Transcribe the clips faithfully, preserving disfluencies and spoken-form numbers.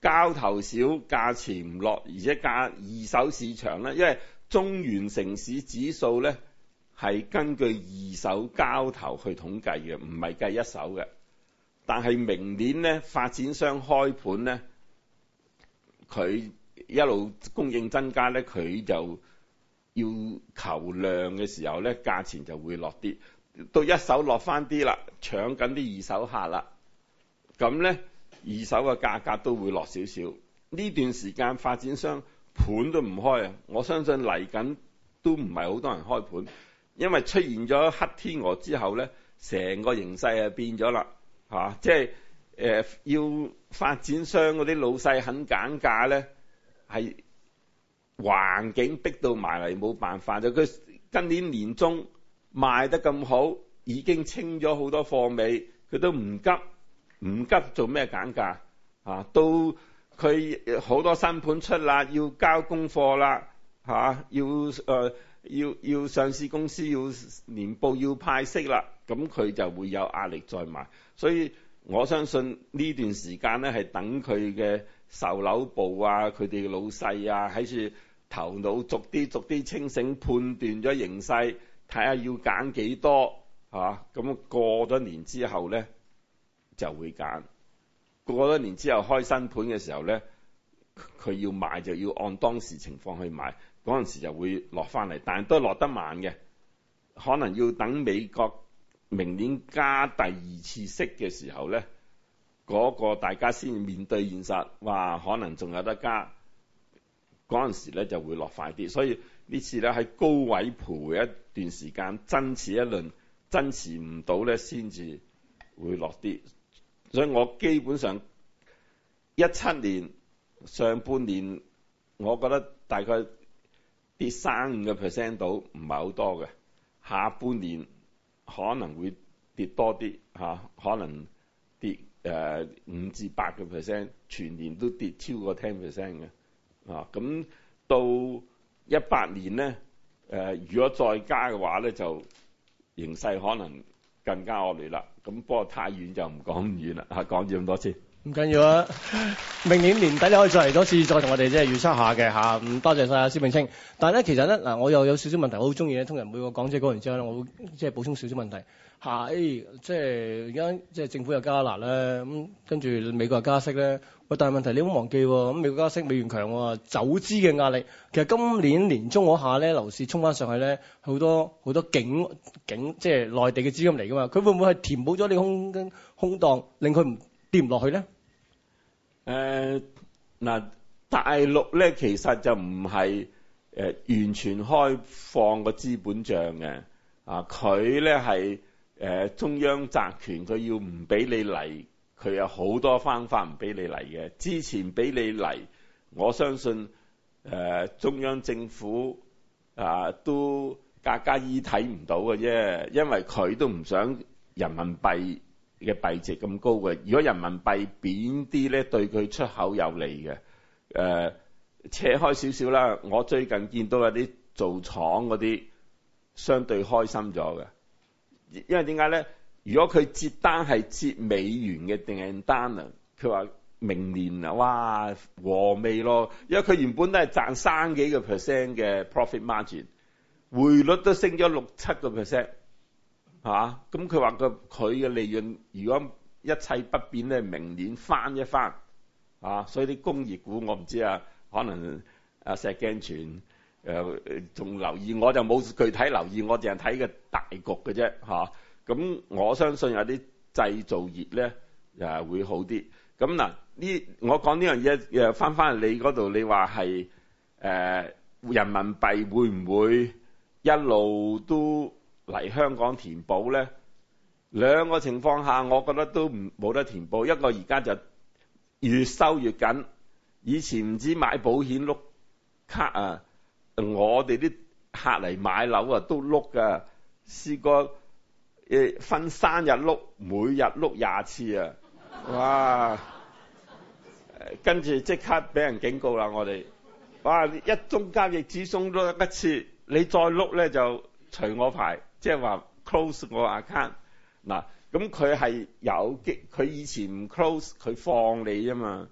交投少，價錢唔落，而且價二手市場咧，因為中原城市指數咧係根據二手交投去統計嘅，唔係計一手嘅。但係明年咧，發展商開盤咧，佢一路供應增加咧，佢就要求量嘅時候咧，價錢就會落啲。到一手落翻啲啦，搶緊啲二手客啦，咁咧二手嘅價格都會落少少。呢段時間發展商盤都唔開啊，我相信嚟緊都唔係好多人開盤，因為出現咗黑天鵝之後咧，成個形勢啊變咗啦嚇，即係誒要發展商嗰啲老細肯減價咧，係環境逼到埋嚟冇辦法就佢今年年中賣得咁好，已經清咗好多貨尾，佢都唔急，唔急做咩減價啊？到佢好多新盤出啦，要交功課啦嚇，要誒、呃、要要上市公司要年報要派息啦，咁佢就會有壓力再賣。所以我相信呢段時間咧係等佢嘅售樓部啊，佢哋嘅老細啊喺處頭腦逐啲逐啲清醒，判斷咗形勢。睇下要揀幾多嚇，咁、啊、過咗年之後咧就會揀。過咗年之後開新盤嘅時候咧，佢要賣就要按當時情況去賣，嗰陣時就會落翻嚟，但係都落得慢嘅，可能要等美國明年加第二次息嘅時候咧，嗰、嗰個大家先面對現實，話可能仲有得加，嗰陣時咧就會落快啲，所以呢次咧喺高位徘徊一段時間，爭持一輪，爭持唔到咧先至會落啲。所以我基本上一七年上半年，我覺得大概跌三五個 percent 到，唔係好多嘅。下半年可能會跌多啲嚇，可能跌誒五至八個 percent，全年都跌超過 ten percent 嘅啊。咁到一八年咧，誒、呃、如果再加嘅話咧，就形勢可能更加惡劣啦。咁不過太遠就唔講咁遠啦，嚇講住咁多先。 唔緊要啊，明年年底你可以再嚟多次，再同我哋即係預測下嘅嚇。咁多謝晒啊，施永青。但係咧，其實咧嗱，我又有少少問題，我好中意咧，通常每個講者講完之後咧，我會即係補充少少問題。係、哎、即係而家即係政府又加辣咧，咁跟住美國又加息咧。喂，但係問題你唔好忘記喎，咁美國加息美元強喎，走資嘅壓力。其實今年年中嗰下咧，樓市衝翻上去咧，好多好多境境即係內地嘅資金嚟噶嘛，佢會唔會係填補咗你空空檔，令佢唔跌唔落去咧？ 誒嗱，大陸咧其實就唔係誒完全開放個資本帳嘅，啊佢咧係誒中央集權，佢要唔俾你嚟，佢有好多方法唔俾你嚟嘅。之前俾你嚟，我相信誒、呃、中央政府啊都格格依睇唔到嘅啫，因為佢都唔想人民幣嘅幣值咁高嘅。如果人民幣貶啲咧，對佢出口有利嘅。誒、呃、扯開少少啦，我最近見到有啲做廠嗰啲相對開心咗嘅，因為點解咧？如果佢接單係接美元嘅訂單啊，佢話明年啊，哇和味咯，因為佢原本都係賺三幾個 percent 嘅 profit margin， 匯率都升咗六七個 percent。嚇，咁佢話個佢嘅利潤如果一切不變咧，明年翻一翻啊，所以啲工業股我唔知啊，可能啊石鏡泉誒仲留意，我就冇具體留意，我淨係睇個大局嘅啫嚇。咁、啊、我相信有啲製造業咧誒會好啲。咁嗱呢，我講呢樣嘢誒翻翻嚟你嗰度，你話係誒人民幣會唔會一路都嚟香港填補咧？兩個情況下，我覺得都唔冇得填補。一個而家就越收越緊，以前唔止買保險碌卡啊，我哋啲客嚟買樓啊都碌噶，試過誒分三日碌，每日碌廿次啊！哇！跟住即刻俾人警告啦，我哋哇一宗交易只送碌一次，你再碌咧就除我牌。即係話 close 我 account 嗱，咁佢係有機，佢以前唔 close，佢放你啫嘛。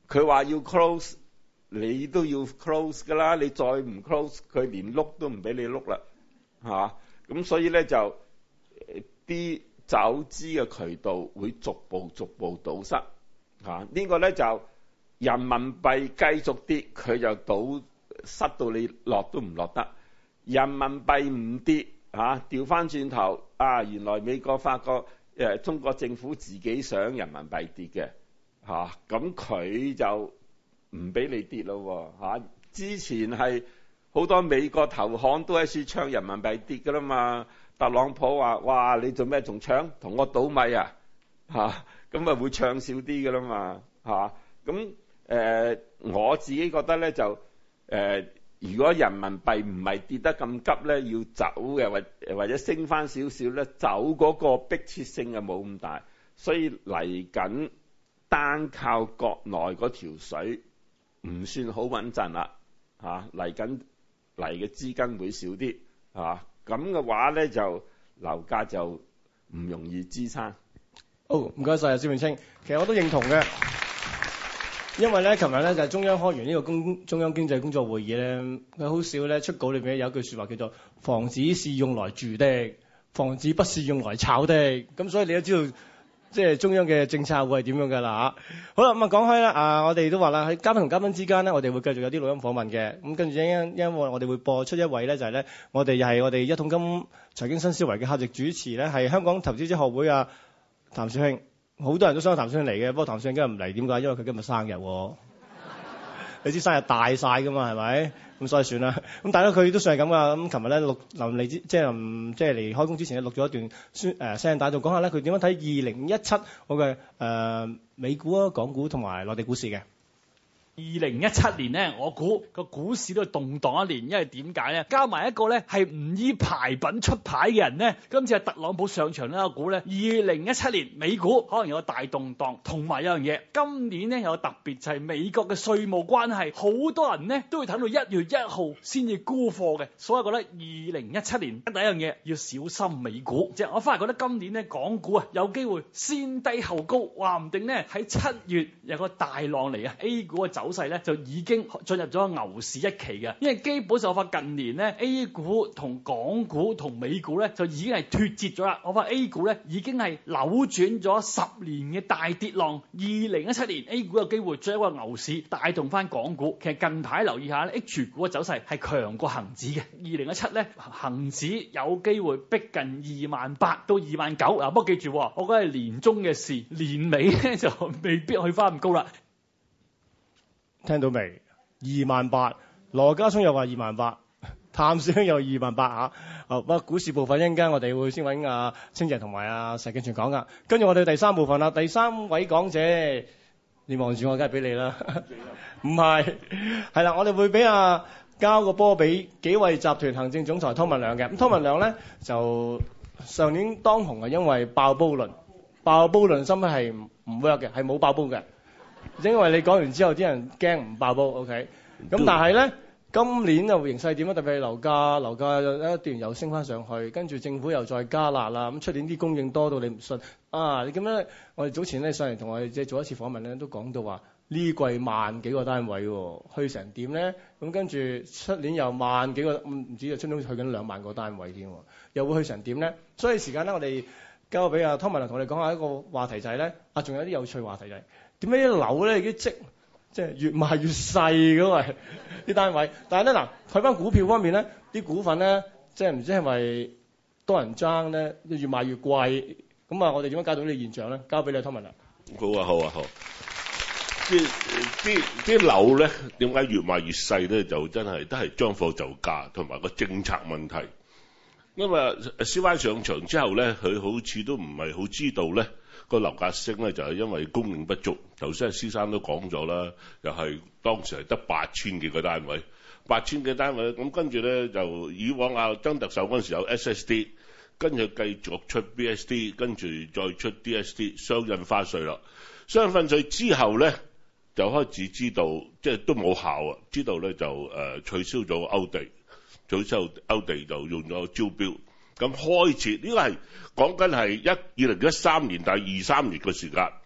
佢話要 close，你都要 close 㗎啦。你再唔 close，佢連碌都唔俾你碌啦，嚇。咁所以咧就啲走資嘅渠道會逐步逐步堵塞，嚇。呢個咧就人民幣繼續跌，佢就堵塞到你落都唔落得。人民幣唔跌，嚇，調翻轉頭啊！原來美國發覺誒中國政府自己想人民幣跌嘅，嚇，咁佢就唔俾你跌咯喎，嚇。之前係好多美國投行都喺處唱人民幣跌㗎啦嘛。特朗普話：哇，你做咩仲唱？同我倒米啊，嚇，咁啊會唱少啲㗎啦嘛，嚇。咁誒我自己覺得咧就誒。呃如果人民幣唔係跌得咁急咧，要走嘅或或者升翻少少咧，走嗰個迫切性就冇咁大，所以嚟緊單靠國內嗰條水唔算好穩陣啦，嚇，嚟緊嚟嘅資金會少啲，嚇，咁嘅話咧就樓價就唔容易支撐。 好，唔該晒，施永青，其實我都認同嘅。因為咧，琴日咧就係中央開完呢個公中央經濟工作會議咧，佢好少咧出稿裏邊有一句説話叫做房子是用來住的，房子不是用來炒的。咁所以你都知道，即係中央嘅政策會係點樣㗎啦嚇。好啦，咁啊講開啦，啊我哋都話啦，喺嘉賓同嘉賓之間咧，我哋會繼續有啲錄音訪問嘅。咁跟住因因為我哋會播出一位咧，就係咧，我哋又係我哋一桶金財經新思維嘅客席主持咧，係香港投資者學會啊譚少卿。好多人都想譚少卿嚟嘅，不過譚少卿今日唔嚟，點解？因為佢今日生日喎。你知生日大晒㗎嘛，係咪？咁所以算啦。咁大家佢都算係咁噶。咁琴日咧錄臨嚟之，即係臨即係嚟開工之前咧錄咗一段宣誒聲帶，就講下咧佢點樣睇二零一七我嘅誒美股啊、港股同埋內地股市嘅。 二零一七年咧，我估個股市都係動盪一年，因為點解咧？加埋一個咧係唔依牌品出牌嘅人咧，今次係特朗普上場咧，我估咧二零一七年美股可能有個大動盪，同埋有樣嘢，今年咧有個特別就係美國嘅稅務關係，好多人咧都會等到一月一號先至沽貨嘅，所以我覺得二零一七年第一樣嘢要小心美股。即係我反而覺得今年咧港股啊有機會先低後高，話唔定咧喺七月有個大浪嚟啊 ！A 股嘅走勢咧就已經進入咗牛市一期嘅，因為基本上我發近年咧 A 股同港股同美股咧就已經係脫節咗啦。我發 A 股咧已經係扭轉咗十年嘅大跌浪，二零一七年 A 股有機會再一個牛市帶動翻港股。其實近排留意下咧 H 股嘅走勢係強過恒指嘅，二零一七咧恒指有機會逼近二萬八到二萬九。嗱，不過記住，我覺得係年中嘅事，年尾咧就未必去翻咁高啦。 聽到未？二萬八，羅家聰又話二萬八，譚少卿又二萬八嚇。好，不過股市部分一陣間我哋會先揾阿清姐同埋阿石鏡泉講噶。跟住我哋第三部分啦，第三位講者，你望住我，梗係俾你啦。唔係，係啦，我哋會俾阿交個波俾紀惠集團行政總裁湯文亮嘅。咁湯文亮咧就上年當紅係因為爆煲論，爆煲論心咧係唔唔 work 嘅，係冇爆煲嘅。因為你講完之後，啲人驚唔爆煲 ，OK？咁但係咧，今年又形勢點啊？特別係樓價，樓價一段又升翻上去，跟住政府又再加辣啦。咁出年啲供應多到你唔信啊！你咁樣，我哋早前咧上嚟同我哋即係做一次訪問咧，都講到話呢季萬幾個單位喎，去成點咧？咁跟住出年又萬幾個，唔止就出年去緊兩萬個單位添，又會去成點咧？所以時間咧，我哋交俾阿湯文亮同我哋講下一個話題就係咧，啊，仲有啲有趣話題就係。點解啲樓咧已經積即係越賣越細嗰個啲單位？但係咧嗱，睇翻股票方面咧，啲股份咧即係唔知係咪多人爭咧，越賣越貴。咁啊，我哋點樣解讀呢個現象咧？交俾你湯文亮。 好啊，好啊，好。啲啲啲樓咧點解越賣越細咧？就真係都係將貨就價同埋個政策問題。因為 C Y 上場之後咧，佢好似都唔係好知道咧。個樓價升咧就係因為供應不足，頭先阿施生都講咗啦，又係當時係得八千幾個單位，八千幾單位，咁跟住咧就以往阿曾特首嗰陣時有 S S D， 跟住繼續出 B S D， 跟住再出 D S D， 雙印花稅啦，雙印花稅之後咧就開始知道即係都冇效啊，知道咧就誒、呃、取消咗勾地，取消勾地就用咗招標。咁開始呢個係講緊係一二零一三年第二三年嘅時間，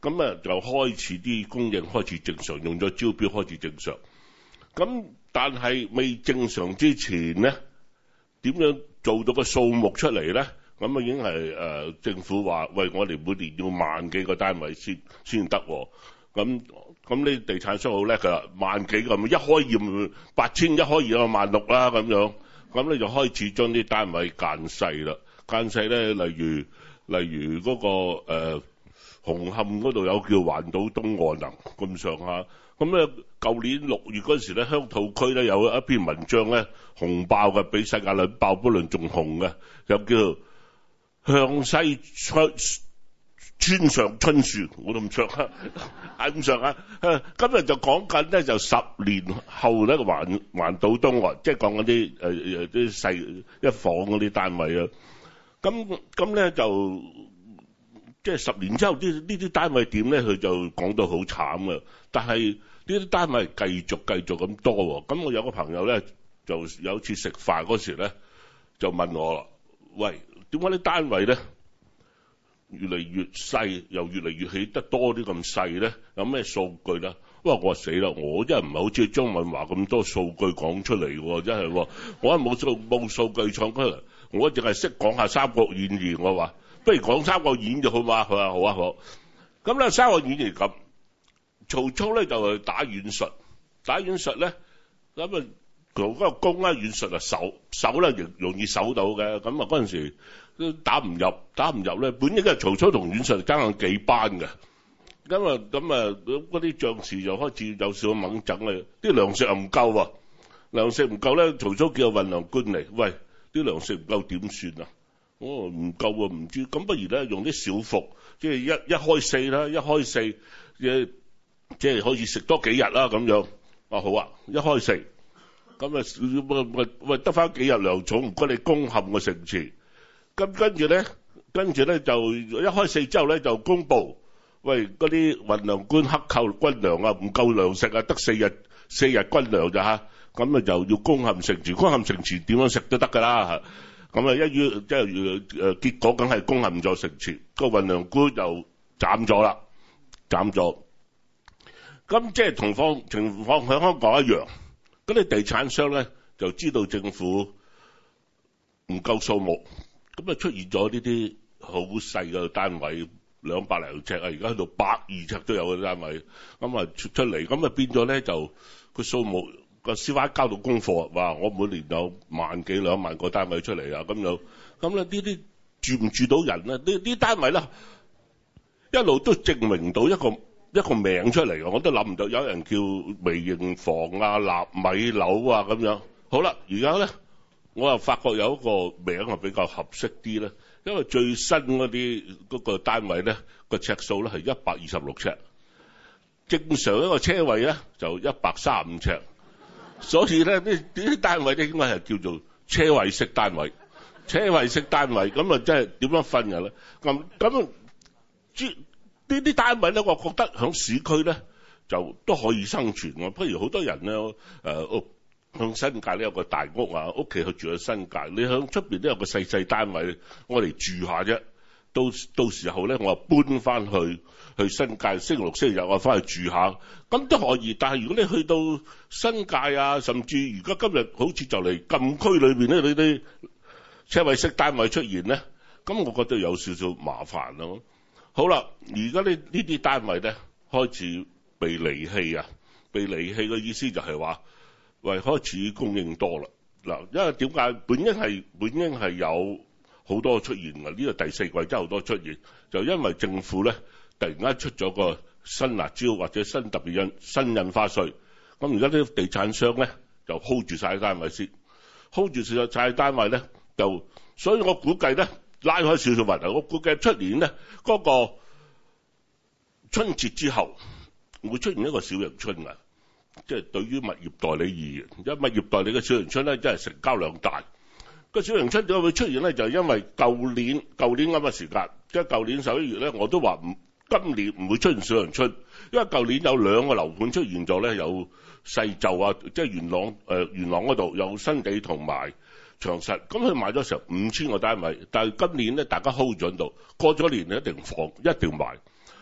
咁啊就開始啲供應開始正常，用咗招標開始正常。咁但係未正常之前咧，點樣做到個數目出嚟咧？咁啊已經係誒、呃、政府話，喂，我哋每年要萬幾個單位先先得喎。咁咁呢地產商好叻㗎啦，萬幾個，一開業八千，一開業就萬六啦咁樣。咁你就開始將啲單位間細啦，間細咧，例如例如嗰、那個誒、呃、紅磡嗰度有叫環島東岸啊咁上下。咁咧舊年六月嗰時咧，鄉土區咧有一篇文章咧紅爆嘅，比世界輪爆不論仲紅嘅，又叫向西出村上春樹，我都唔上啊，係咁上啊。今日就講緊咧，就十年後咧環環島東岸，即係講嗰啲誒誒啲細一房嗰啲單位啊。咁咁咧就即係十年之後，啲呢啲單位點咧？佢就講到好慘啊！但係呢啲單位繼續繼續咁多喎。咁我有個朋友咧，就有次食飯嗰時咧，就問我啦：喂，點解啲單位咧越嚟越細，又越嚟越起得多啲咁細咧？有咩數據咧？哇！我話死啦！我真係唔係好似張敏華咁多數據講出嚟喎，真係喎！我係冇數冇數據創出嚟，我淨係識講下《三國演義》。我話不如講《三國演義》好嘛？佢話好啊好。咁咧《三國演義》咁，曹操咧就係打軟術，打軟術咧咁啊，嗰個攻咧軟術啊守守咧容容易守到嘅。咁啊嗰陣時都打唔入，打唔入咧，本應係曹操同軟術爭緊幾班嘅。咁啊咁啊嗰啲將士就開始有少少猛整啦，啲糧食又唔夠喎，糧食唔夠咧，曹操叫個運糧官嚟，喂，啲糧食唔夠點算啊？哦，唔夠啊，唔知，咁不如咧用啲小服，即係一一開四啦，一開四，即即係可以食多幾日啦咁樣。啊好啊，一開四，咁啊喂喂喂得翻幾日糧草，唔該你攻陷個城池。咁跟住咧，跟住咧就一開四之後咧就公佈，喂嗰啲運糧官克扣軍糧啊，唔夠糧食啊，得四日四日軍糧咋嚇？咁啊就要攻陷城池，攻陷城池點樣食都得㗎啦嚇。咁啊，一於即係誒結果，梗係攻陷咗城池，個運糧官就斬咗啦，斬咗。咁即係同方情況喺香港一樣，嗰啲地產商咧就知道政府唔夠數目，咁啊出現咗呢啲好細嘅單位，兩百零尺啊，而家去到百二尺都有嘅單位，咁啊出出嚟，咁啊變咗咧就個數目。個司法交到功課，話我每年有萬幾兩萬個單位出嚟啊，咁樣咁咧呢啲住唔住到人咧？呢啲單位咧一路都證明到一個一個名出嚟嘅，我都諗唔到有人叫微型房啊、納米樓啊咁樣。好啦，而家咧我又發覺有一個名係比較合適啲咧，因為最新嗰啲嗰個單位咧個尺數咧係一百二十六尺，正常一個車位咧就一百三十五尺。所以咧，呢啲單位咧應該係叫做車位式單位，車位式單位咁啊，即係點樣分嘅咧？咁咁呢啲單位咧，我覺得喺市區咧就都可以生存喎。不如好多人咧，誒、呃、屋向新界咧有個大屋啊，屋企去住喺新界，你喺出邊都有個細細單位，我嚟住下啫。到到時候咧，我搬翻去去新界，星期六星期日我翻去住下，咁都可以。但係如果你去到新界啊，甚至而家今日好似就嚟禁區裏邊咧，你啲車位式單位出現咧，咁我覺得有少少麻煩咯。好啦，而家呢呢啲單位咧開始被離棄啊，被離棄嘅意思就係話，喂，開始供應多啦嗱，因為點解本應係本應係有好多出現嘅，呢個第四季真係好多出現，就因為政府咧突然間出咗個新辣椒或者新特別印新印花稅，咁而家啲地產商咧就 hold 住晒單位先 ，hold 住晒單位咧就，所以我估計咧拉開少少問題，我估計出年咧嗰個春節之後會出現一個小陽春啊，即係對於物業代理而言，因為物業代理嘅小陽春咧真係成交量大。個小陽春點解會出現咧？就係因為舊年舊年咁嘅時間，即係舊年十一月咧，我都話唔今年唔會出現小陽春，因為舊年有兩個樓盤出現咗咧，有世就啊，即係元朗誒元朗嗰度有新地同埋長實，咁佢賣咗成五千個單位，但係今年咧大家 hold 咗喺度，過咗年一定放一定賣。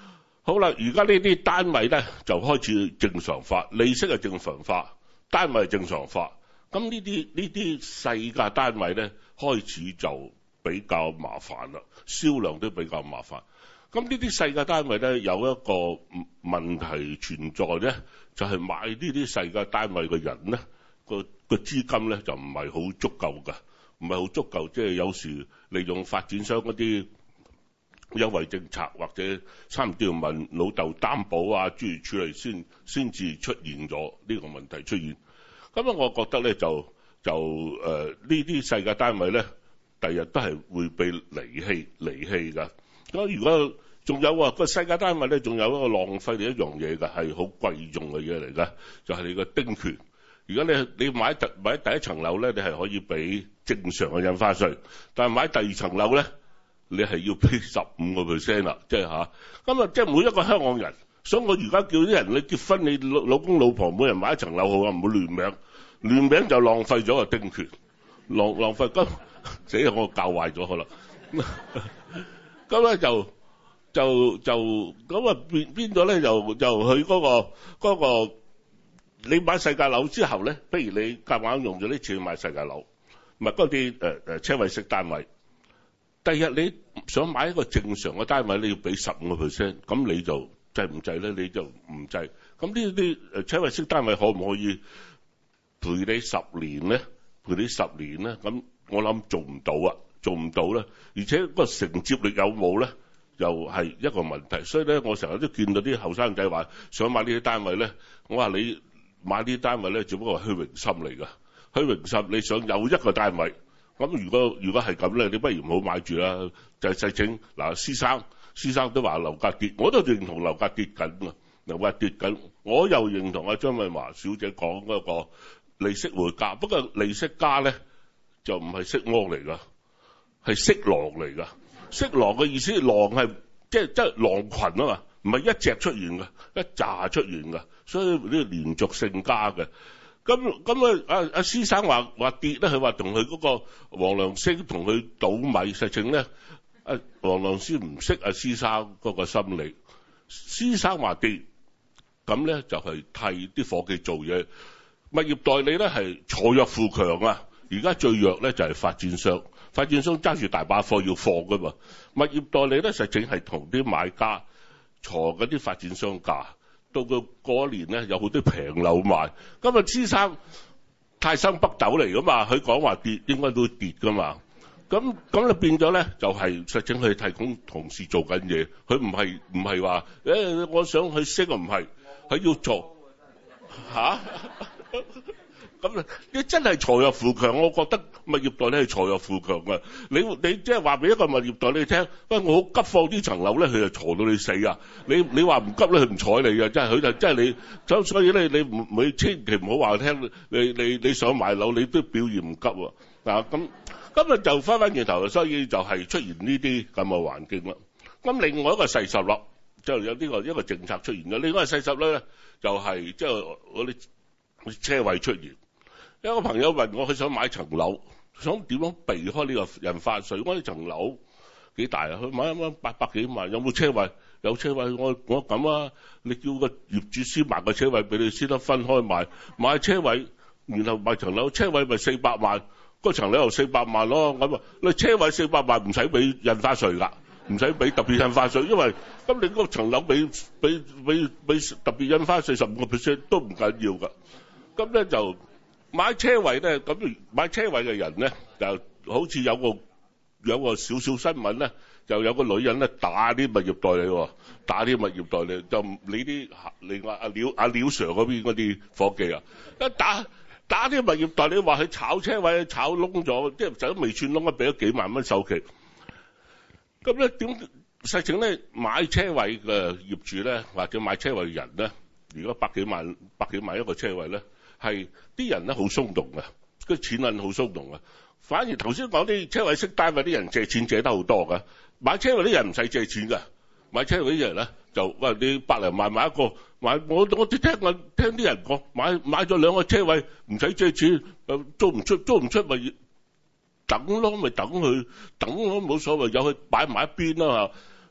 好啦，而家呢啲單位咧就開始正常化，利息係正常化，單位係正常化。咁呢啲呢啲細價單位咧開始就比較麻煩啦，銷量都比較麻煩。咁呢啲細價單位咧有一個問題存在咧，就係買呢啲細價單位嘅人咧個個資金咧就唔係好足夠㗎，唔係好足夠，即係有時利用發展商嗰啲優惠政策或者差唔多要問老豆擔保啊諸如此類先先至出現咗呢個問題出現。咁啊，我覺得咧就就誒呢啲細價單位咧，第日都係會被離棄離棄㗎。咁如果仲有啊個細價單位咧，仲有一個浪費嘅一樣嘢㗎，係好貴重嘅嘢嚟㗎，就係你個丁權。如果你你買第買第一層樓咧，你係可以俾正常嘅印花稅，但係買第二層樓咧，你係要俾十五個 percent 啦，即係嚇。咁啊，即係每一個香港人，所以我而家叫啲人你結婚，你老老公老婆每人買一層樓好啊，唔好亂名，亂名就浪費咗個丁權，浪浪費咁死我教壞咗佢啦。咁咧就就就咁啊變變咗咧，就就佢嗰個嗰個你買細價樓之後咧，不如你夾硬用咗啲錢買細價樓，唔係嗰啲誒誒車位式單位。第日你想買一個正常嘅單位，你要俾十五個 percent， 咁你就制唔制咧？你就唔制。咁呢啲誒車位式單位可唔可以陪你十年咧？陪你十年咧？咁我諗做唔到啊，做唔到咧。而且個承接力有冇咧，又係一個問題。所以咧，我成日都見到啲後生仔話想買呢啲單位咧，我話你買呢啲單位咧，只不過係虛榮心嚟㗎。虛榮心，你想有一個單位。咁如果如果係咁咧，你不如唔好買住啦。就係實情嗱，施生施生都話樓價跌，我都認同樓價跌緊㗎，樓價跌緊。我又認同阿張敏華小姐講嗰個利息會加，不過利息加咧就唔係色魔嚟㗎，係色狼嚟㗎。色狼嘅意思，狼係即係即係狼群啊嘛，唔係一隻出現㗎，一紮出現㗎，所以呢個連續性加嘅。咁咁啊！阿阿施生話話跌咧，佢話同佢嗰個黃良昇同佢倒米，實情咧，阿黃良昇唔識阿施生嗰個心理。施生話跌，咁咧就係替啲伙計做嘢。物業代理咧係鋤弱扶強啊！而家最弱咧就係發展商，發展商揸住大把貨要放噶嘛。物業代理咧實情係同啲買家鋤嗰啲發展商價。到個嗰一年咧，有好多平樓賣。今日施生泰山北斗嚟噶嘛，佢講話跌應該都會跌噶嘛。咁咁就變咗咧，就係實情佢提供同事做緊嘢，佢唔係唔係話誒，我想去升啊，唔係，佢要做嚇。咁啊，你真係鋤弱扶強，我覺得物業代理係鋤弱扶強啊！你你即係話俾一個物業代理聽，喂，我好急放呢層樓咧，佢就鋤到你死啊！你你話唔急咧，佢唔睬你啊！真係佢就真係你，所所以咧，你唔你千祈唔好話聽，你你你想買樓，你都表現唔急喎。嗱咁今日就翻返轉頭，所以就係出現呢啲咁嘅環境啦。咁另外一個細十粒，就有呢個一個政策出現咗。另外細十粒咧，就係即係嗰啲車位出現。有個朋友問我，佢想買層樓，想點樣避開呢個印花稅？我呢層樓幾大啊？佢買一蚊八百幾萬，有冇車位？有車位，我我咁啊！你叫個業主先買個車位俾你，先得分開買。買車位，然後買層樓，車位咪四百萬，嗰層樓又四百萬咯。咁啊，你車位四百萬唔使俾印花稅㗎，唔使俾特別印花稅，因為咁你嗰層樓俾俾俾俾特別印花稅十五個 percent 都唔緊要㗎。咁咧就。買車位咧，咁買車位嘅人咧，就好似有個有個少少新聞咧，就有個女人咧打啲物業代理喎，打啲物業代理就你啲另外阿廖阿廖 Sir 嗰邊嗰啲伙計啊，一打打啲物業代理話佢炒車位炒窿咗，即係就都未串窿啊，俾咗幾萬蚊首期。咁咧點實情咧買車位嘅業主咧，或者買車位嘅人咧，如果百幾萬百幾萬一個車位咧？係啲人咧好鬆動嘅，個錢銀好鬆動嘅。反而頭先講啲車位式單位啲人借錢借得好多㗎，買車位啲人唔使借錢㗎。買車位啲人咧就喂你百零萬買一個，買我我啲聽我聽啲人講買買咗兩個車位唔使借錢，租唔出租唔出咪等咯，咪等佢等咯冇所謂，有佢擺埋一邊啦嚇。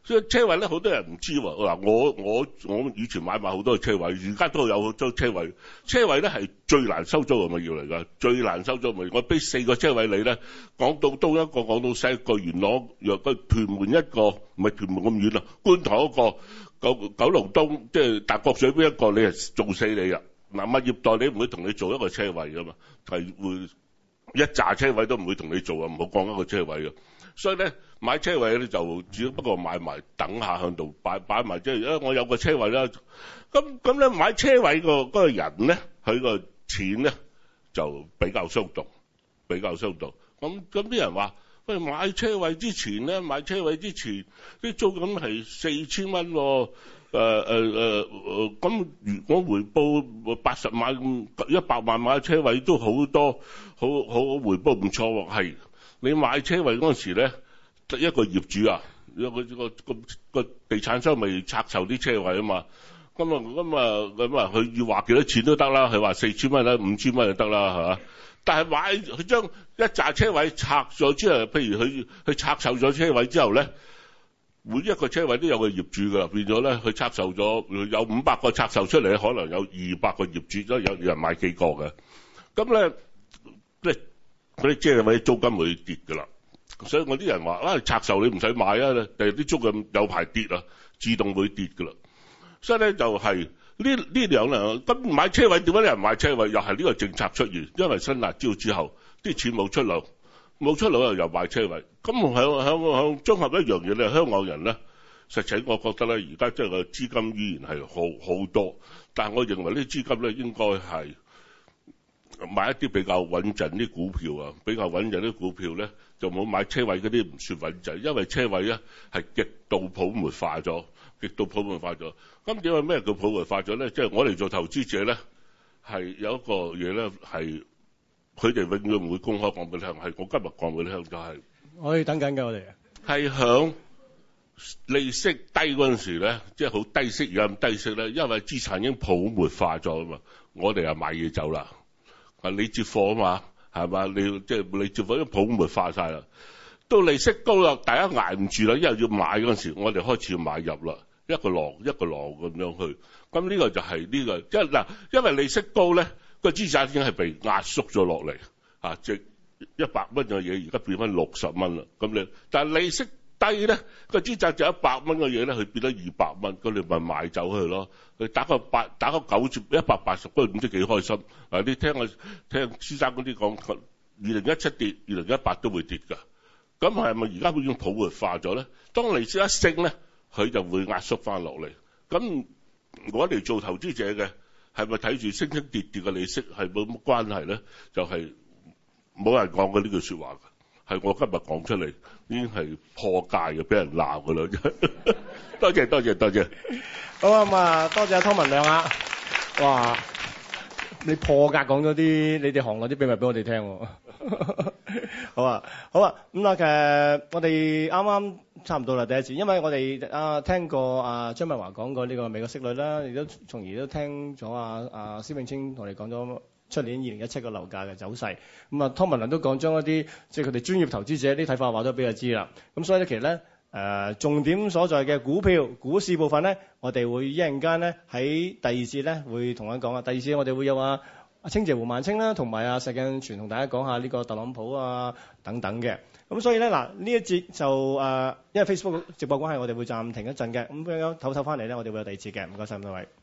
所以車位咧，好多人唔知喎。嗱，我我我以前買賣好多車位，而家都有好多車位。車位咧係最難收租嘅物業嚟㗎，最難收租物業。我俾四個車位你咧，港島東一個，港島西一個，元朗若個屯門一個，唔係屯門咁遠啊，觀塘一個，九九龍東即係大角咀邊一個，你係做死你啊！嗱，物業代理唔會同你做一個車位㗎嘛，係會一紮車位都唔會同你做啊，唔好講一個車位啊。所以咧買車位咧就只不過買埋等下向度擺擺埋，即係誒我有個車位啦。咁咁咧買車位個嗰個人咧，佢個錢咧就比較鬆動，比較鬆動。咁咁啲人話：喂，買車位之前咧，買車位之前啲租金係四千蚊喎。誒誒誒誒，咁如果回報八十萬、一百萬買車位都好多，好好回報唔錯喎。係你買車位嗰陣時咧，一個業主啊，一個個個個地產商咪拆售啲車位啊嘛。咁啊咁啊咁啊，佢要話幾多錢都得啦，佢話四千蚊啦，五千蚊就得啦，係嘛？但係買佢將一紮車位拆咗之後，譬如佢佢拆售咗車位之後咧。每一個車位都有個業主㗎，變咗咧佢拆售咗有五百個拆售出嚟，可能有二百個業主，都有人買幾個嘅。咁咧，即係嗰啲車位租金會跌㗎啦。所以我啲人話啊，拆售你唔使買啊，第啲租金有排跌啊，自動會跌㗎啦。所以咧就係呢呢兩樣咁買車位，點解啲人買車位？又係呢個政策出現，因為新辣椒之後啲錢冇出路。冇出路又又買車位，咁響響響綜合一樣嘢咧，香港人咧，實情我覺得咧，而家即係個資金依然係好好多，但係我認為呢啲資金咧應該係買一啲比較穩陣啲股票啊，比較穩陣啲股票咧就冇買車位嗰啲唔算穩陣，因為車位咧係極度泡沫化咗，極度泡沫化咗。咁點解咩叫泡沫化咗咧？即係我哋做投資者咧係有一個嘢咧係。佢哋永遠唔會公開講俾你聽，係我今日講俾你聽就係、是， 可以等緊㗎，我哋係響利息低嗰陣時咧，即係好低息而家咁低息咧，因為資產已經泡沫化咗啊嘛，我哋又買嘢走啦，啊你接貨啊嘛，係嘛？你即係你接貨，因為泡沫化晒啦，到利息高啦，大家捱唔住啦，因為要買嗰陣時，我哋開始要買入啦，一個浪一個浪咁樣去，咁呢個就係呢、這個，即係嗱，因為利息高咧。個資產已經係被壓縮咗落嚟，啊，即一百蚊嘅嘢而家變翻六十蚊啦。咁你，但係利息低咧，個資產就一百蚊嘅嘢咧，佢變咗二百蚊，咁你咪賣走佢咯。佢打個八，打個九折，一百八十，嗰唔知幾開心。嗱，你聽我聽先生嗰啲講，二零一七跌，二零一八都會跌㗎。咁係咪而家已經泡沫化咗咧？當利息一升咧，佢就會壓縮翻落嚟。咁我哋做投資者嘅。係咪睇住升升跌跌嘅利息係冇乜關係咧？就係、是、冇人講過呢句説話嘅，係我今日講出嚟已經係破戒嘅，俾人鬧㗎啦！多謝多謝多謝。 好啊咁啊，多謝阿湯文亮啊！哇，你破格講咗啲你哋行內啲秘密俾我哋聽喎。好啊，好啊，咁啊，其實我哋啱啱差唔多啦，第一次，因為我哋啊聽過啊張文華講過呢個美國息率啦，亦都從而都聽咗啊啊施永青同你講咗出年二零一七個樓價嘅走勢。咁啊湯文亮都講將一啲即係佢哋專業投資者啲睇法話咗俾佢知啦。咁所以咧，其實咧誒、呃、重點所在嘅股票股市部分咧，我哋會一陣間咧喺第二節咧會同佢講啊。第二節我哋會有啊。阿清姐胡萬清啦，同埋阿石鏡泉同大家講下呢個特朗普啊等等嘅。咁所以咧嗱，呢一節就誒、呃，因為 Facebook 直播關係，我哋會暫停一陣嘅。咁樣唞唞翻嚟咧，我哋會有第二節嘅。唔該晒咁多位。